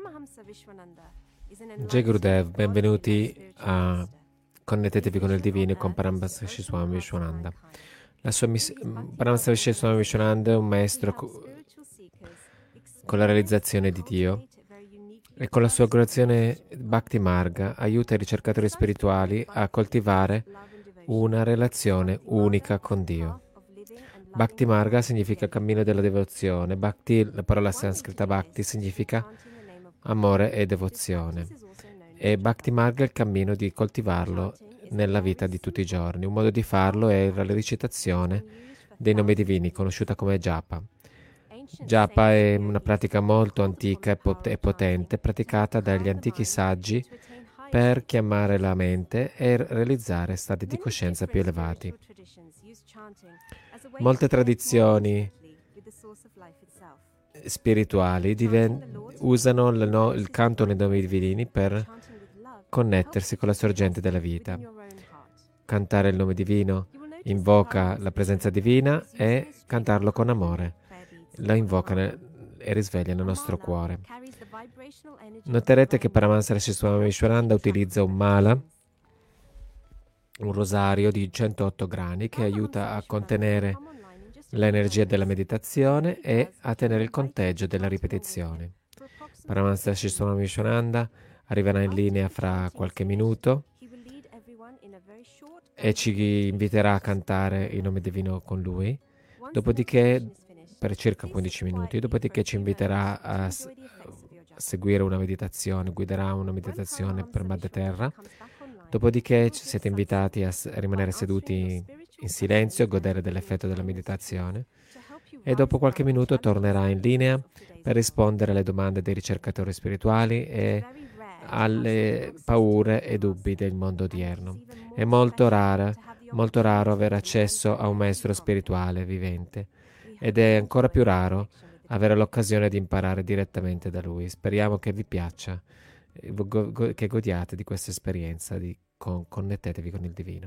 Jai Gurudev, benvenuti a Connettetevi con il Divino con Paramahansa Swami Vishwananda. Paramahansa Swami Vishwananda è un maestro con la realizzazione di Dio e con la sua curazione Bhakti Marga aiuta i ricercatori spirituali a coltivare una relazione unica con Dio. Bhakti Marga significa cammino della devozione. Bhakti, la parola sanscrita Bhakti, significa amore e devozione. E Bhakti Marga è il cammino di coltivarlo nella vita di tutti i giorni. Un modo di farlo è la recitazione dei nomi divini, conosciuta come Japa. Japa è una pratica molto antica e potente, praticata dagli antichi saggi per chiamare la mente e realizzare stati di coscienza più elevati. Molte tradizioni spirituali usano il canto nei nomi divini per connettersi con la sorgente della vita. Cantare il nome divino invoca la presenza divina e cantarlo con amore la invoca e risveglia nel nostro cuore. Noterete che Paramahansa Swami Vishwananda utilizza un mala, un rosario di 108 grani che aiuta a contenere l'energia della meditazione e a tenere il conteggio della ripetizione. Paramahansa Swami Vishwananda arriverà in linea fra qualche minuto e ci inviterà a cantare il nome divino con lui, dopodiché per circa 15 minuti, dopodiché ci inviterà a seguire una meditazione, guiderà una meditazione per Madre Terra, dopodiché siete invitati a rimanere seduti in silenzio, godere dell'effetto della meditazione e dopo qualche minuto tornerà in linea per rispondere alle domande dei ricercatori spirituali e alle paure e dubbi del mondo odierno. È molto raro avere accesso a un maestro spirituale vivente ed è ancora più raro avere l'occasione di imparare direttamente da lui. Speriamo che vi piaccia, che godiate di questa esperienza, connettetevi con il divino.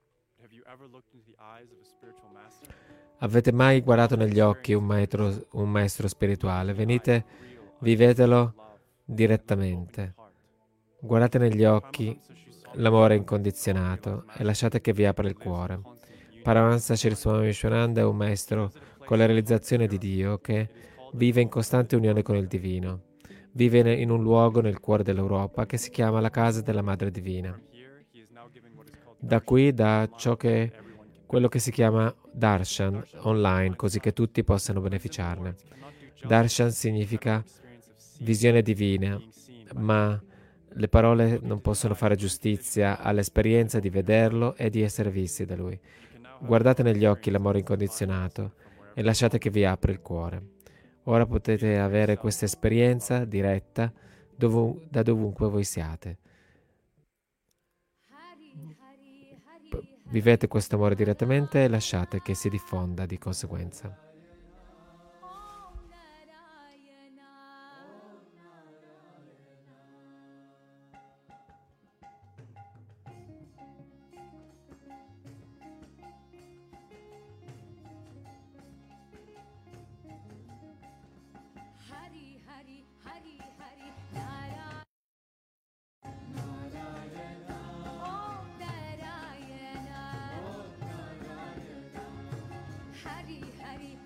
Avete mai guardato negli occhi un maestro spirituale? Venite, vivetelo direttamente. Guardate negli occhi l'amore incondizionato e lasciate che vi apra il cuore. Paramahansa Swami Vishwananda è un maestro con la realizzazione di Dio che vive in costante unione con il divino. Vive in un luogo nel cuore dell'Europa che si chiama la Casa della Madre Divina. Da qui dà quello che si chiama Darshan online, così che tutti possano beneficiarne. Darshan significa visione divina, ma le parole non possono fare giustizia all'esperienza di vederlo e di essere visti da lui. Guardate negli occhi l'amore incondizionato e lasciate che vi apra il cuore. Ora potete avere questa esperienza diretta da dovunque voi siate. Vivete questo amore direttamente e lasciate che si diffonda di conseguenza. Hari Hari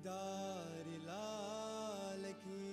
Girdhari लाल की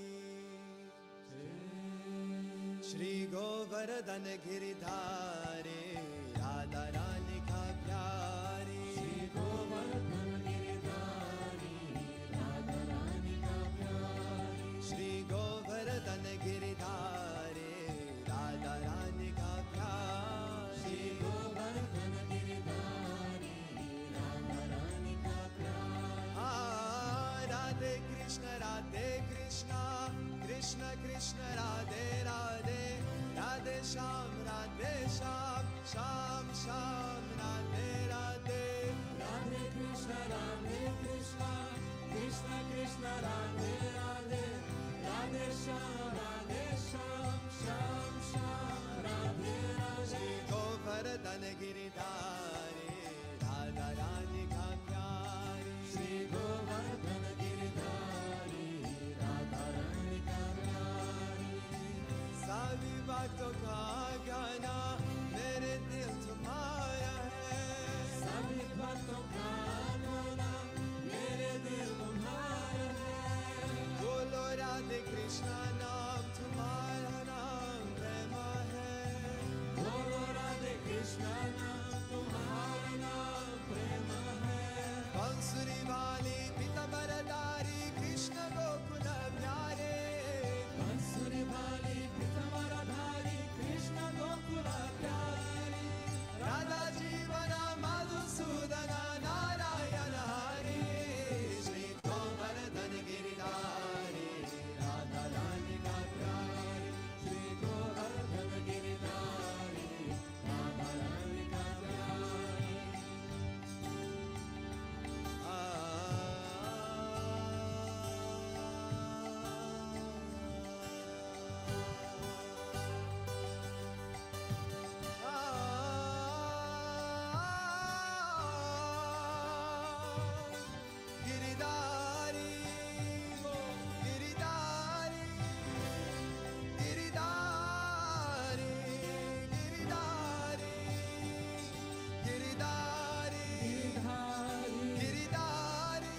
श्री गोवर्धन गिरधारे राधा रानी का प्यारे श्री गोवर्धन गिरधारी राधा रानी का प्यारे श्री गोवर्धन गिरधारे राधा रानी का प्यारे श्री गोवर्धन गिरधारी राधा रानी का प्यारे राधे कृष्ण कृष्ण कृष्ण राधे राधे राधे श्याम श्याम श्याम राधे राधे राधे कृष्ण कृष्ण कृष्ण राधे राधे राधे श्याम श्याम राधे राधे श्री गोवर्धन गिरधारी राधा रानी का प्यारी श्री गोवर्धन गिरधारी राधा रानी का प्यारी सभी बातों का गाना मेरे दिल तुम्हारा है सभी बातों का गाना मेरे दिल तुम्हारा है बोलो राधे कृष्णा नाम तुम्हारा नाम प्रेम है बोलो राधे कृष्णा नाम तुम्हारा नाम प्रेम है बांसुरी वाली पीतांबरधारी कृष्ण गोकुल प्यारे बांसुरी वाली पीतांबरधारी कृष्ण गोकुल प्यारे राधा जीवन मधुसूदन नारायण हरि श्री गोवर्धन गिरधारी राधा रानी का प्यारे श्री गोवर्धन गिरधारी राधा रानी का प्यारे गिरधारी गिरधारी गिरधारी गिरधारी गिरधारी गिरधारी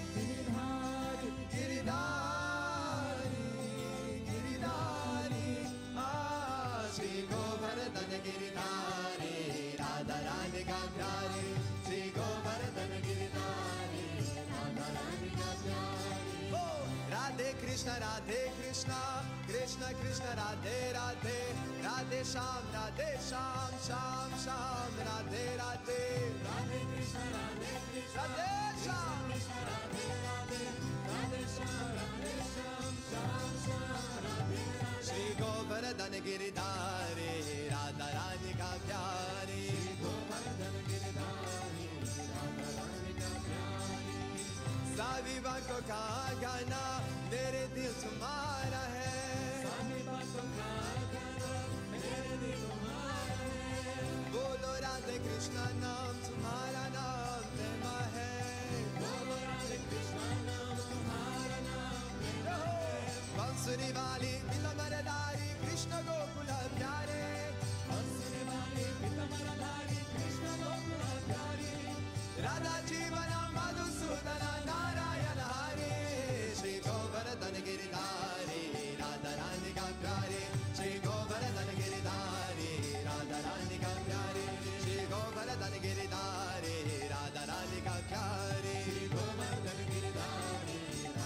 गिरधारी गिरधारी श्री गोवर्धन गिरधारी राधा रानी का प्यारे श्री गोवर्धन गिरधारी राधा रानी का प्यारे ओ राधे कृष्ण कृष्ण कृष्ण राधे राधे राधे श्याम श्याम श्याम राधे राधे राधे कृष्ण राधे श्याम राधे राधे राधे श्याम श्याम राधे श्री गोवर्धन गिरधारी राधा रानी का प्यारे गोवर्धन गिरधारी राधा रानी का प्यारे सभी बातों का गाना मेरे दिल तुम्हारा है सभी बातों का गाना मेरे दिल तुम्हारा है बोलो राधे कृष्ण नाम तुम्हारा नाम प्रेम है बोलो राधे कृष्ण नाम तुम्हारा नाम प्रेम है बांसुरी वाली पीतांबरधारी कृष्ण गोकुल प्यारे बांसुरी वाली पीतांबरधारी कृष्ण गोकुल प्यारे राधा जीवन मधुसूदन नारायण हरि श्री गोवर्धन गिरधारी राधा रानी का प्यारे श्री गोवर्धन गिरधारी राधा रानी का प्यारे श्री गोवर्धन गिरधारी राधा रानी का प्यारे श्री गोवर्धन गिरधारी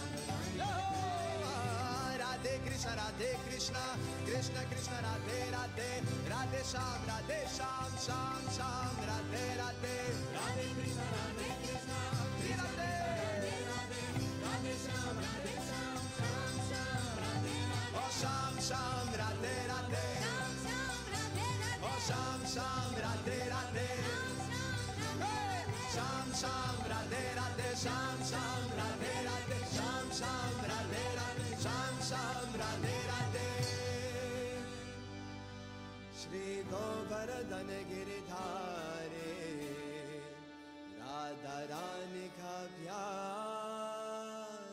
राधे कृष्ण कृष्ण कृष्ण राधे राधे राधे श्याम श्याम राधे राधे राधे कृष्ण राधे राधे श्याम ओ श्याम राधे राधे ओ श्याम राधे राधे श्याम राधे राधे श्याम राधे राधे श्याम राधे राधे श्याम राधे राधे श्री गोवर्धन गिरधारे राधा रानी का प्यार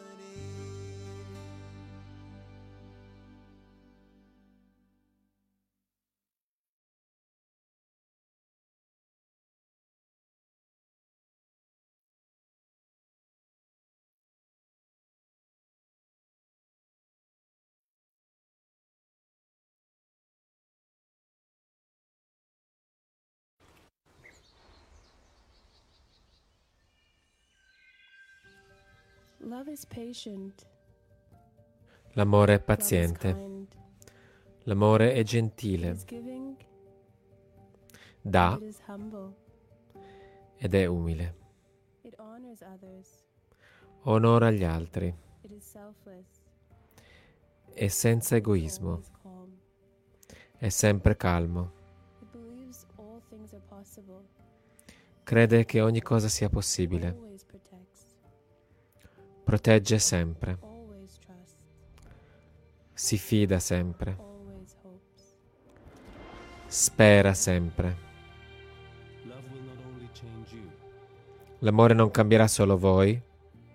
Love is patient. L'amore è Love is paziente. kind. L'amore è It gentile. is giving. Dà It is humble. ed è umile. It honors others. Onora gli altri. It is selfless. È senza It is egoismo. always calm. È sempre calmo. It believes all things are possible. Crede che ogni cosa sia possibile. Always protects. Protegge sempre. Always trusts. Si fida sempre. Always hopes. Spera sempre. Love will not only change you, L'amore non cambierà solo voi, it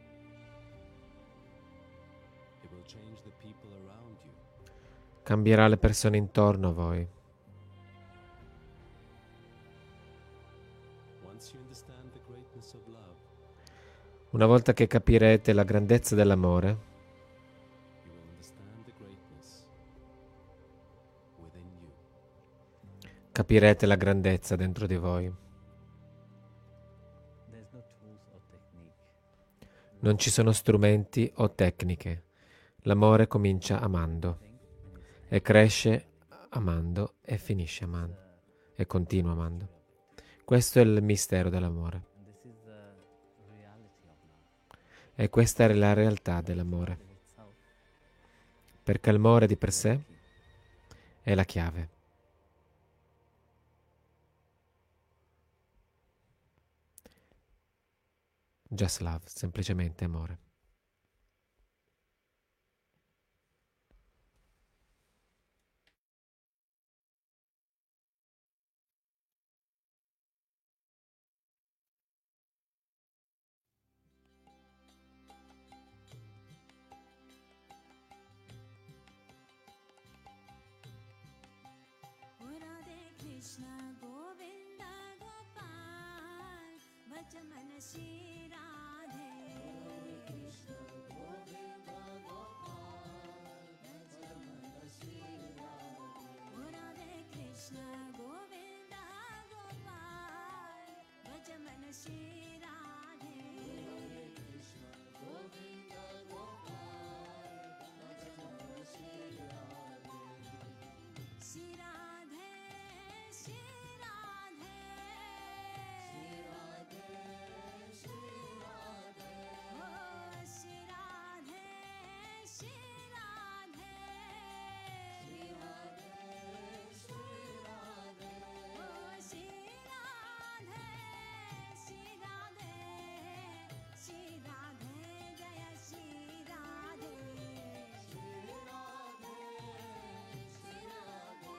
will change the people around you. cambierà le persone intorno a voi. Once you understand the greatness of love, Una volta che capirete la grandezza dell'amore, you will understand the greatness within you. capirete la grandezza dentro di voi. Non ci sono strumenti o tecniche. L'amore comincia amando e cresce amando e finisce amando e continua amando. Questo è il mistero dell'amore. E questa è la realtà dell'amore. Perché l'amore di per sé è la chiave. Just love, semplicemente amore. Radhe Krishna Govinda Gopal Bhajaman Shri Radhe Krishna Govinda Gopal Bhajaman Shri Radhe Radhe Krishna Govinda Gopal Bhajaman Shri Radhe Krishna Govinda Gopal Bhajaman Shri Radhe Shri Radhe, Shri Radhe, Shri Radhe, Shri Radhe, oh Shri Radhe, Shri Radhe, Shri Radhe, Shri Radhe, oh Shri Radhe, Shri Radhe, Shri Radhe, Jaya Shri Radhe, Shri Radhe, Shri Radhe.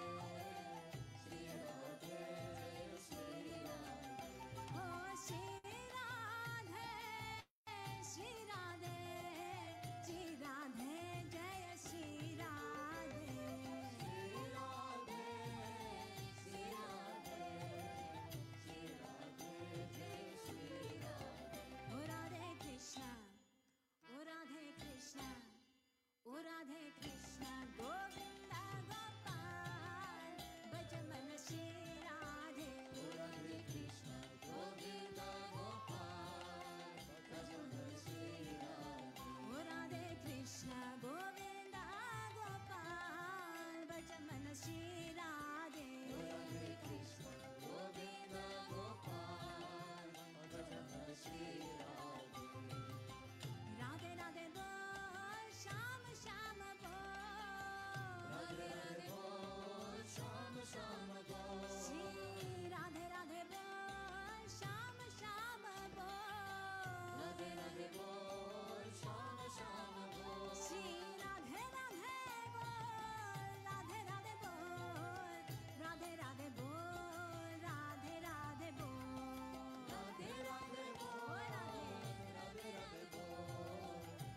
Oh Shri Radhe, Shri Radhe, Shri Radhe, Jaya Shri Radhe. Shri Radhe, Shri Radhe, Shri Radhe, Jaya Shri Radhe. Oh Radhe Krishna, oh Radhe Krishna, oh Radhe Krishna, Govinda Gopal, Bhajaman Shri Radhe. Oh Radhe Krishna, Govinda Gopal, Bhajaman Shri Radhe. Oh Radhe Krishna, Govinda Gopal, Bhajaman Shri Radhe. Oh Radhe Krishna, Govinda Gopal, Bhajaman Shri Radhe. Radhe Radhe bol, Sham Sham bol. Radhe Radhe bol, Sham Sham bol. Shri Radhe Radhe bol, Sham Sham bol. Radhe Radhe bol, Sham Sham bol. Shri Radhe Radhe bol, Radhe Radhe bol. Radhe Radhe bol, Radhe Radhe bol. Radhe Radhe bol, Radhe Radhe bol.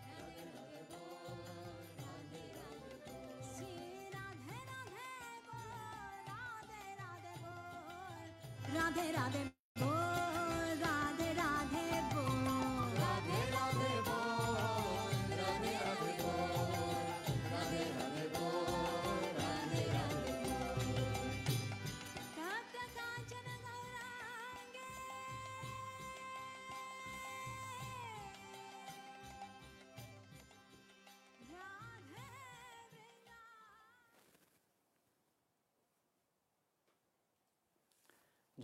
Shri Radhe Radhe bol, Radhe Radhe bol. Radhe Radhe bol, Radhe Radhe bol. Radhe Radhe bol, Radhe Radhe bol. Radhe Radhe bol, Radhe Radhe bol. Tapta Kanchana Gaurange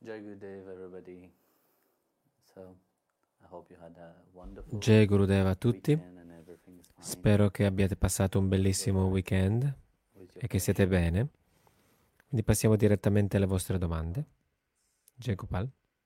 Jai Gurudev, everybody. So, I hope you had a wonderful Jai Gurudeva a tutti. weekend and everything is fine Spero che abbiate passato un bellissimo weekend with your e che siete questions. bene. Quindi passiamo direttamente alle vostre domande. Jai Gopal.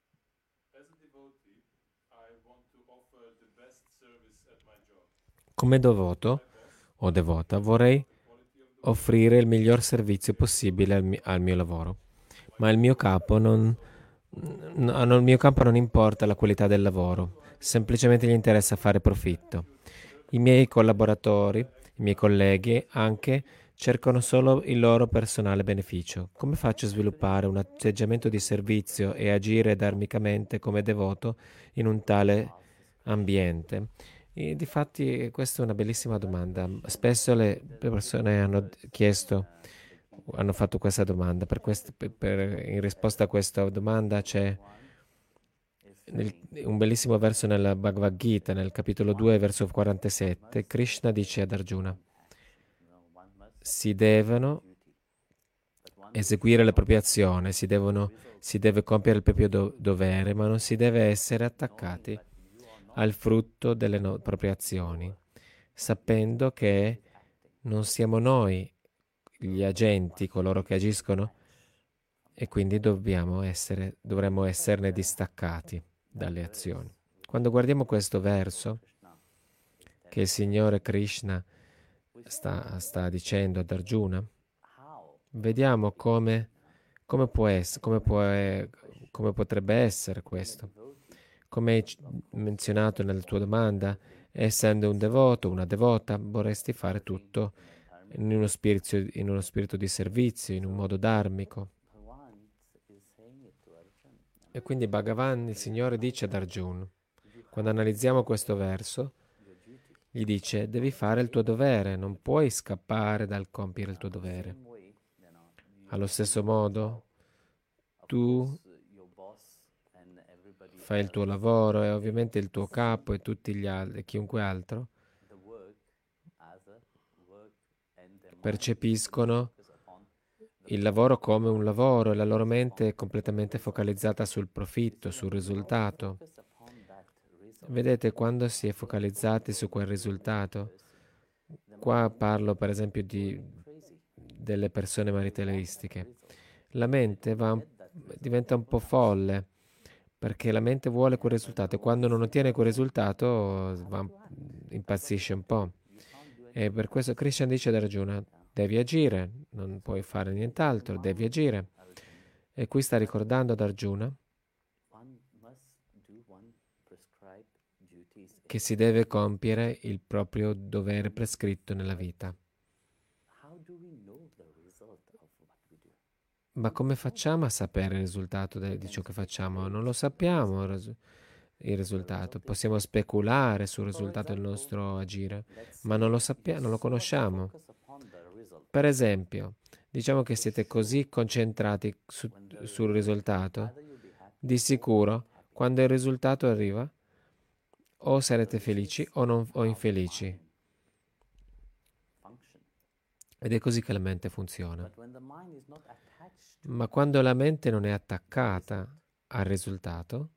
Come devoto o devota vorrei offrire il miglior servizio possibile al mio lavoro, ma il mio capo il mio campo non importa la qualità del lavoro, semplicemente gli interessa fare profitto. I miei collaboratori, i miei colleghi anche cercano solo il loro personale beneficio. Come faccio a sviluppare un atteggiamento di servizio e agire dharmicamente come devoto in un tale ambiente? E difatti questa è una bellissima domanda. Spesso le persone hanno fatto questa domanda. In risposta a questa domanda c'è un bellissimo verso nella Bhagavad Gita, nel capitolo 2, verso 47. Krishna dice ad Arjuna: si devono eseguire le proprie azioni, si deve compiere il proprio dovere, ma non si deve essere attaccati al frutto delle proprie azioni, sapendo che non siamo noi gli agenti, coloro che agiscono, e quindi dovremmo esserne distaccati dalle azioni. Quando guardiamo questo verso che il Signore Krishna sta dicendo ad Arjuna, vediamo come potrebbe essere questo. Come hai menzionato nella tua domanda, essendo un devoto, una devota, vorresti fare tutto in uno spirito di servizio, in un modo dharmico. E quindi Bhagavan, il Signore, dice ad Arjuna, quando analizziamo questo verso, gli dice: devi fare il tuo dovere, non puoi scappare dal compiere il tuo dovere. Allo stesso modo, tu fai il tuo lavoro e ovviamente il tuo capo e tutti gli altri, e chiunque altro, percepiscono il lavoro come un lavoro e la loro mente è completamente focalizzata sul profitto, sul risultato. Vedete, quando si è focalizzati su quel risultato, qua parlo per esempio delle persone materialistiche, la mente diventa un po' folle, perché la mente vuole quel risultato e quando non ottiene quel risultato impazzisce un po'. E per questo Krishna dice ad Arjuna: devi agire, non puoi fare nient'altro, devi agire. E qui sta ricordando ad Arjuna che si deve compiere il proprio dovere prescritto nella vita. Ma come facciamo a sapere il risultato di ciò che facciamo? Non lo sappiamo il risultato. Possiamo speculare sul risultato del nostro agire, ma non lo sappiamo, non lo conosciamo. Per esempio, diciamo che siete così concentrati sul risultato, di sicuro, quando il risultato arriva, o sarete felici o infelici. Ed è così che la mente funziona. Ma quando la mente non è attaccata al risultato,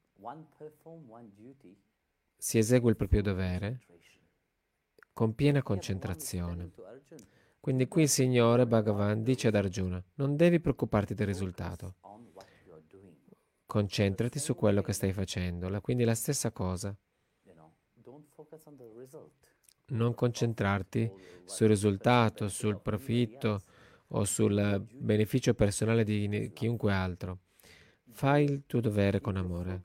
si esegue il proprio dovere con piena concentrazione. Quindi qui il Signore Bhagavan dice ad Arjuna: non devi preoccuparti del risultato, concentrati su quello che stai facendo. Quindi la stessa cosa. Non concentrarti sul risultato, sul profitto o sul beneficio personale di chiunque altro. Fai il tuo dovere con amore.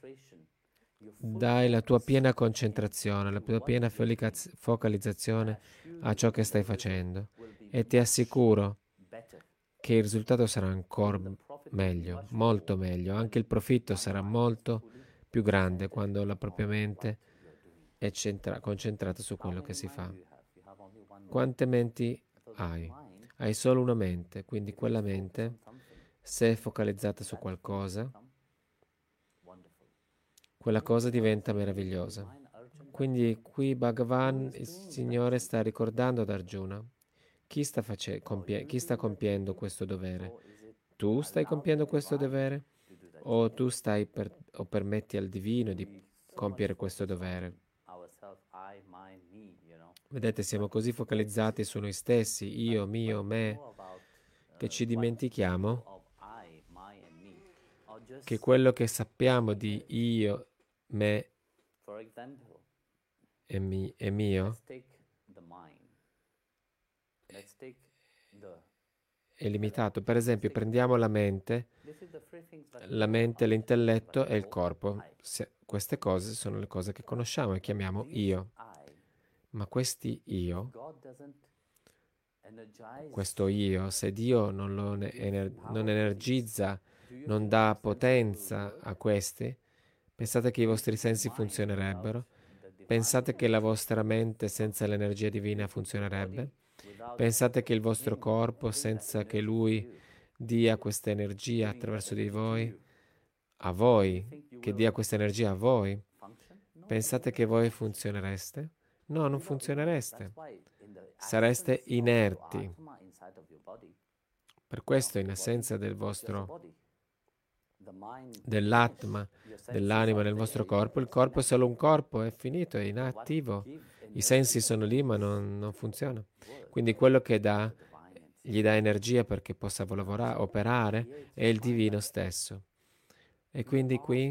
Dai la tua piena concentrazione, la tua piena focalizzazione a ciò che stai facendo e ti assicuro che il risultato sarà ancora meglio, molto meglio. Anche il profitto sarà molto più grande quando la propria mente è concentrata su quello che si fa. Quante menti hai? Hai solo una mente, quindi quella mente, se è focalizzata su qualcosa, quella cosa diventa meravigliosa. Quindi qui Bhagavan, il Signore, sta ricordando ad Arjuna chi sta compiendo questo dovere. Tu stai compiendo questo dovere? o tu stai o permetti al divino di compiere questo dovere. Ourselves, I, mine, me, Vedete, siamo così focalizzati su noi stessi, io, mio, me, che ci dimentichiamo of I, my, and me, or just, che quello che sappiamo di io, me for example, e mio let's take the mind. Let's take the. è limitato. Per esempio, prendiamo la mente, This is the three things that la mente, l'intelletto e il corpo. Queste cose sono le cose che conosciamo e chiamiamo io. I. Ma questi io, God doesn't energize. questo io, se Dio non lo non energizza, non dà potenza a questi, pensate che i vostri sensi funzionerebbero? Pensate che la vostra mente senza l'energia divina funzionerebbe? Pensate che il vostro corpo, senza che Lui dia questa energia attraverso di voi, a voi, che dia questa energia a voi, pensate che voi funzionereste? No, non funzionereste. Sareste inerti. Per questo, in assenza dell'atma, dell'anima nel vostro corpo, il corpo è solo un corpo, è finito, è inattivo. I sensi sono lì, ma non funziona. Quindi quello che gli dà energia perché possa lavorare, operare, è il divino stesso. E quindi qui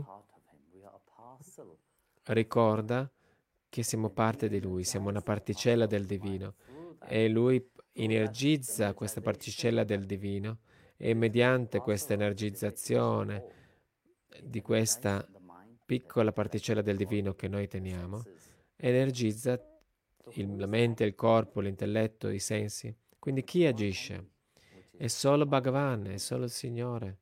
ricorda che siamo parte di Lui, siamo una particella del divino e Lui energizza questa particella del divino e mediante questa energizzazione di questa piccola particella del divino che noi teniamo, energizza la mente, il corpo, l'intelletto, i sensi. Quindi chi agisce? È solo Bhagavan, è solo il Signore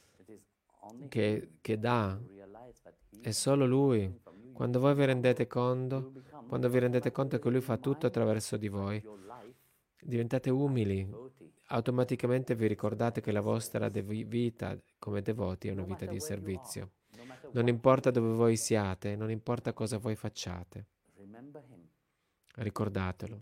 che dà, è solo Lui. Quando voi vi rendete conto, che Lui fa tutto attraverso di voi, diventate umili, automaticamente vi ricordate che la vostra vita come devoti è una vita di servizio. Non importa dove voi siate, non importa cosa voi facciate, ricordatelo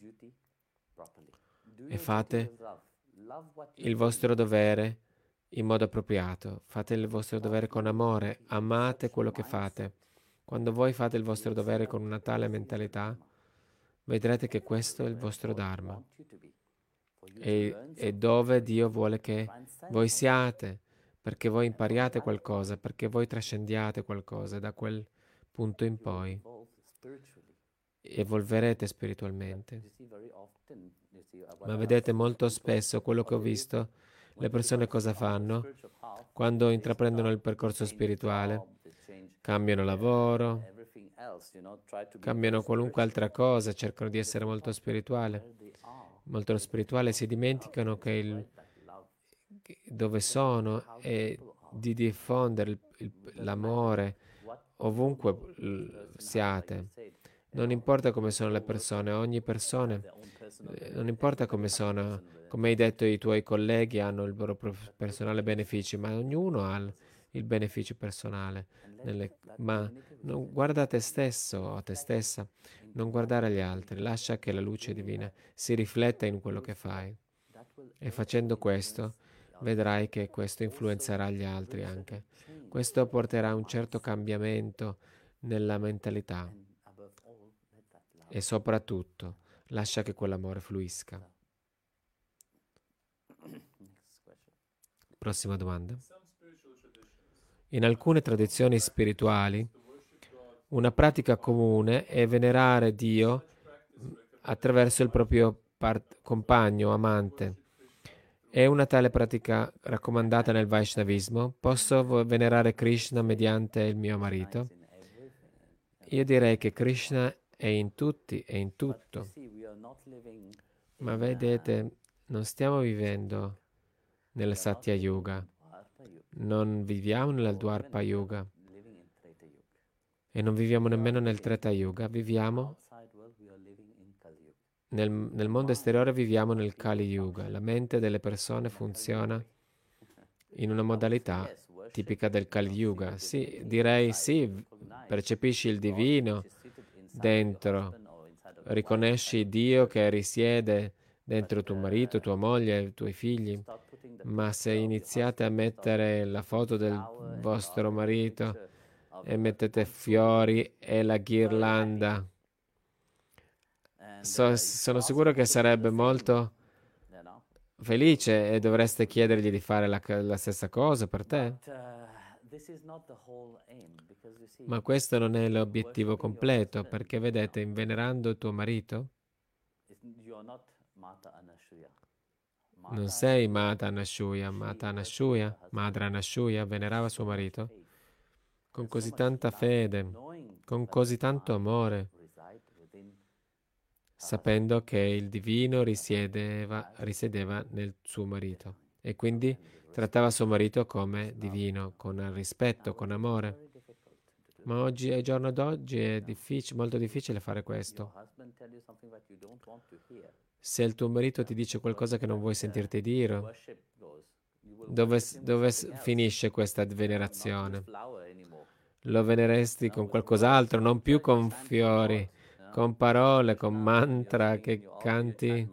e fate il vostro dovere in modo appropriato, fate il vostro dovere con amore, amate quello che fate. Quando voi fate il vostro dovere con una tale mentalità, vedrete che questo è il vostro Dharma. E dove Dio vuole che voi siate, perché voi impariate qualcosa, perché voi trascendiate qualcosa, da quel punto in poi evolverete spiritualmente. Ma vedete molto spesso quello che ho visto, le persone cosa fanno? Quando intraprendono il percorso spirituale, cambiano lavoro, cambiano qualunque altra cosa, cercano di essere molto spirituali, si dimenticano che dove sono e di diffondere l'amore ovunque siate. Non importa come sono le persone, ogni persona, non importa come sono, come hai detto, i tuoi colleghi hanno il loro personale beneficio, ma ognuno ha il beneficio personale. Ma non guarda te stesso o te stessa, non guardare gli altri, lascia che la luce divina si rifletta in quello che fai. E facendo questo, vedrai che questo influenzerà gli altri anche. Questo porterà a un certo cambiamento nella mentalità. E soprattutto, lascia che quell'amore fluisca. Prossima domanda. In alcune tradizioni spirituali, una pratica comune è venerare Dio attraverso il proprio compagno, amante. È una tale pratica raccomandata nel Vaishnavismo? Posso venerare Krishna mediante il mio marito? Io direi che Krishna è in tutti e in tutto. Ma vedete, non stiamo vivendo nel Satya Yuga, non viviamo nella Dwapara Yuga e non viviamo nemmeno nel Treta Yuga, viviamo nel mondo esteriore, viviamo nel Kali Yuga. La mente delle persone funziona in una modalità tipica del Kali Yuga. Sì, direi sì, percepisci il divino dentro, riconosci Dio che risiede dentro tuo marito, tua moglie, i tuoi figli, Ma se iniziate a mettere la foto del vostro marito e mettete fiori e la ghirlanda, sono sicuro che sarebbe molto felice e dovreste chiedergli di fare la stessa cosa per te. Ma questo non è l'obiettivo completo, perché vedete, venerando tuo marito, non sei Mata Anashuya. Mata Anashuya, Madre Anashuya, venerava suo marito con così tanta fede, con così tanto amore, sapendo che il divino risiedeva nel suo marito e quindi trattava suo marito come divino, con rispetto, con amore. Ma oggi, ai giorno d'oggi, è molto difficile fare questo. Se il tuo marito ti dice qualcosa che non vuoi sentirti dire, dove finisce questa venerazione? Lo veneresti con qualcos'altro, non più con fiori, con parole, con mantra che canti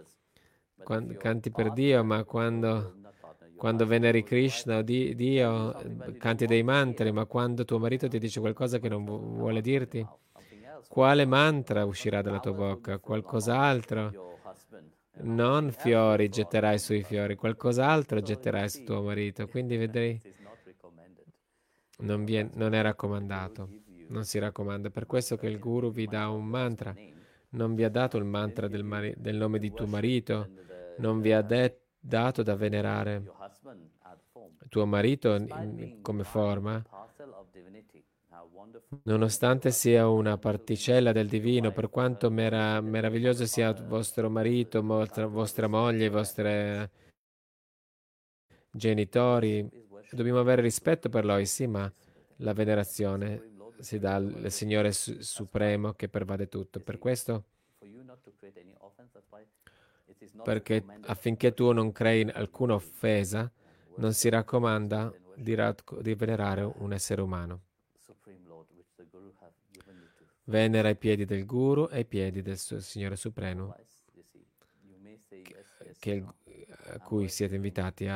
per Dio, ma quando veneri Krishna o Dio, canti dei mantra, ma quando tuo marito ti dice qualcosa che non vuole dirti, quale mantra uscirà dalla tua bocca? Qualcos'altro? Non fiori getterai sui fiori, qualcos'altro getterai su tuo marito. Quindi vedrai, non è raccomandato, non si raccomanda. Per questo che il guru vi dà un mantra. Non vi ha dato il mantra del nome di tuo marito, non vi ha dato da venerare tuo marito come forma, nonostante sia una particella del divino, per quanto meraviglioso sia vostro marito, vostra moglie, i vostri genitori, dobbiamo avere rispetto per loro, sì, ma la venerazione si dà al Signore Supremo che pervade tutto. Per questo, perché affinché tu non crei alcuna offesa, non si raccomanda di venerare un essere umano. Venera i piedi del Guru e i piedi del Signore Supremo, su cui siete invitati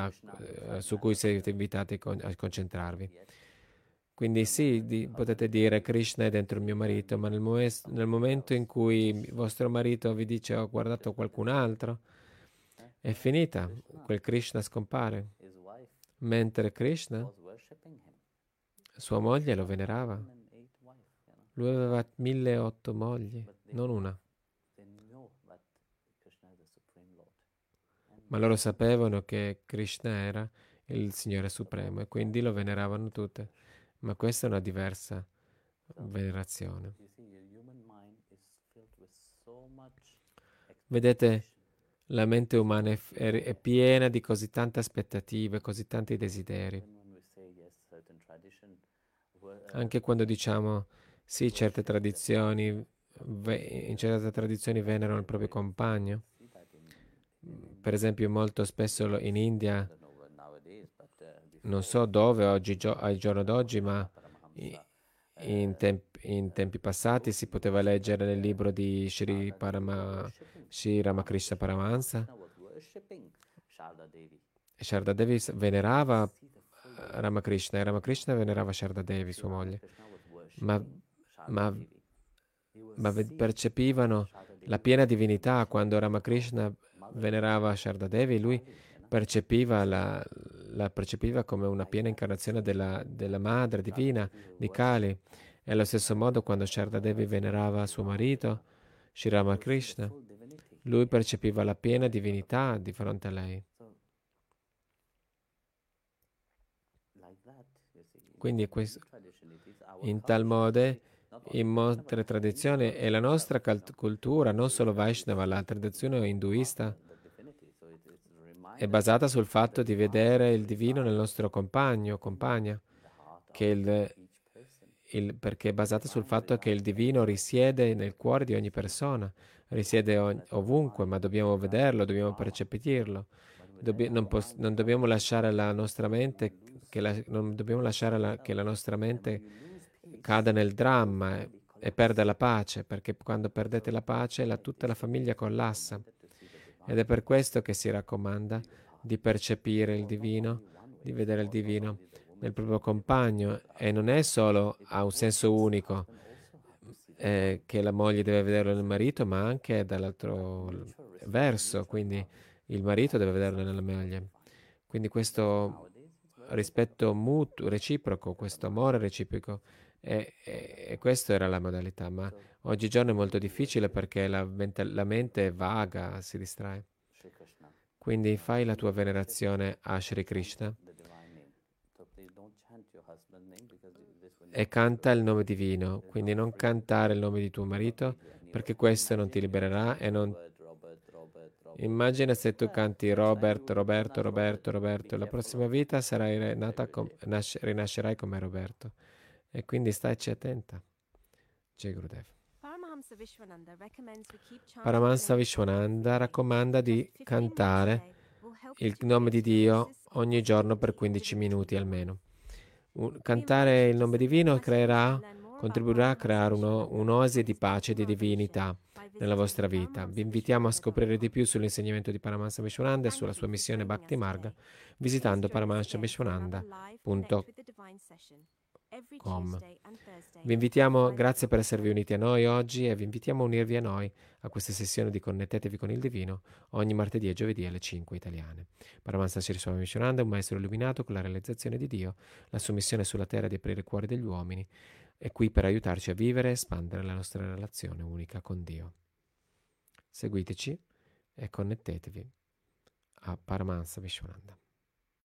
a concentrarvi. Quindi sì, potete dire Krishna è dentro il mio marito, ma nel momento in cui il vostro marito vi dice ho guardato qualcun altro, è finita, quel Krishna scompare. Mentre Krishna, sua moglie lo venerava. Lui aveva 1008 mogli, non una. Ma loro sapevano che Krishna era il Signore Supremo e quindi lo veneravano tutte. Ma questa è una diversa venerazione. Vedete, la mente umana è piena di così tante aspettative, così tanti desideri. Anche quando diciamo sì, in certe tradizioni venerano il proprio compagno. Per esempio, molto spesso in India, non so dove al giorno d'oggi, ma in tempi passati si poteva leggere nel libro di Sri Ramakrishna Paramahansa. Sharda Devi venerava Ramakrishna e Ramakrishna venerava Sharda Devi, sua moglie. Ma percepivano la piena divinità quando Ramakrishna venerava Sharda Devi, lui la percepiva come una piena incarnazione della madre divina di Kali. E allo stesso modo quando Sharda Devi venerava suo marito, Sri Ramakrishna, lui percepiva la piena divinità di fronte a lei. Quindi in tal modo, in molte tradizioni, è la nostra cultura, non solo Vaishnava, la tradizione induista, è basata sul fatto di vedere il divino nel nostro compagno o compagna, perché è basata sul fatto che il divino risiede nel cuore di ogni persona, risiede ovunque, ma dobbiamo vederlo, dobbiamo percepirlo. Non dobbiamo lasciare la nostra mente che la nostra mente cada nel dramma e perda la pace, perché quando perdete la pace tutta la famiglia collassa. Ed è per questo che si raccomanda di percepire il divino, di vedere il divino nel proprio compagno, e non è solo a un senso unico che la moglie deve vederlo nel marito, ma anche dall'altro verso, quindi il marito deve vederlo nella moglie. Quindi questo rispetto mutuo, reciproco, questo amore reciproco, e questa era la modalità, ma oggigiorno è molto difficile perché la mente è vaga, si distrae. Shri Krishna, Quindi fai la tua venerazione a Shri Krishna the divine name. So please don't chant your husband's name because this will e canta il nome divino. Quindi non cantare il nome di tuo marito, perché questo non ti libererà e non... Robert. Immagina se tu canti Robert, Roberto, Roberto, Roberto, la prossima vita sarai rinascerai come Roberto. E quindi staci attenta. Jai Gurudev. Paramahansa Vishwananda raccomanda di cantare il nome di Dio ogni giorno per 15 minuti almeno. Cantare il nome divino contribuirà a creare un'oasi di pace e di divinità nella vostra vita. Vi invitiamo a scoprire di più sull'insegnamento di Paramahansa Vishwananda e sulla sua missione Bhakti Marga visitando paramahansavishwananda.com. Vi invitiamo, grazie per esservi uniti a noi oggi, e vi invitiamo a unirvi a noi a queste sessioni di Connettetevi con il Divino ogni martedì e giovedì alle 5 italiane. Paramahansa Sri Swami Vishwananda è un maestro illuminato con la realizzazione di Dio. La sua missione sulla terra è di aprire i cuori degli uomini. È qui per aiutarci a vivere e espandere la nostra relazione unica con Dio. Seguiteci e connettetevi a Paramahansa Vishwananda.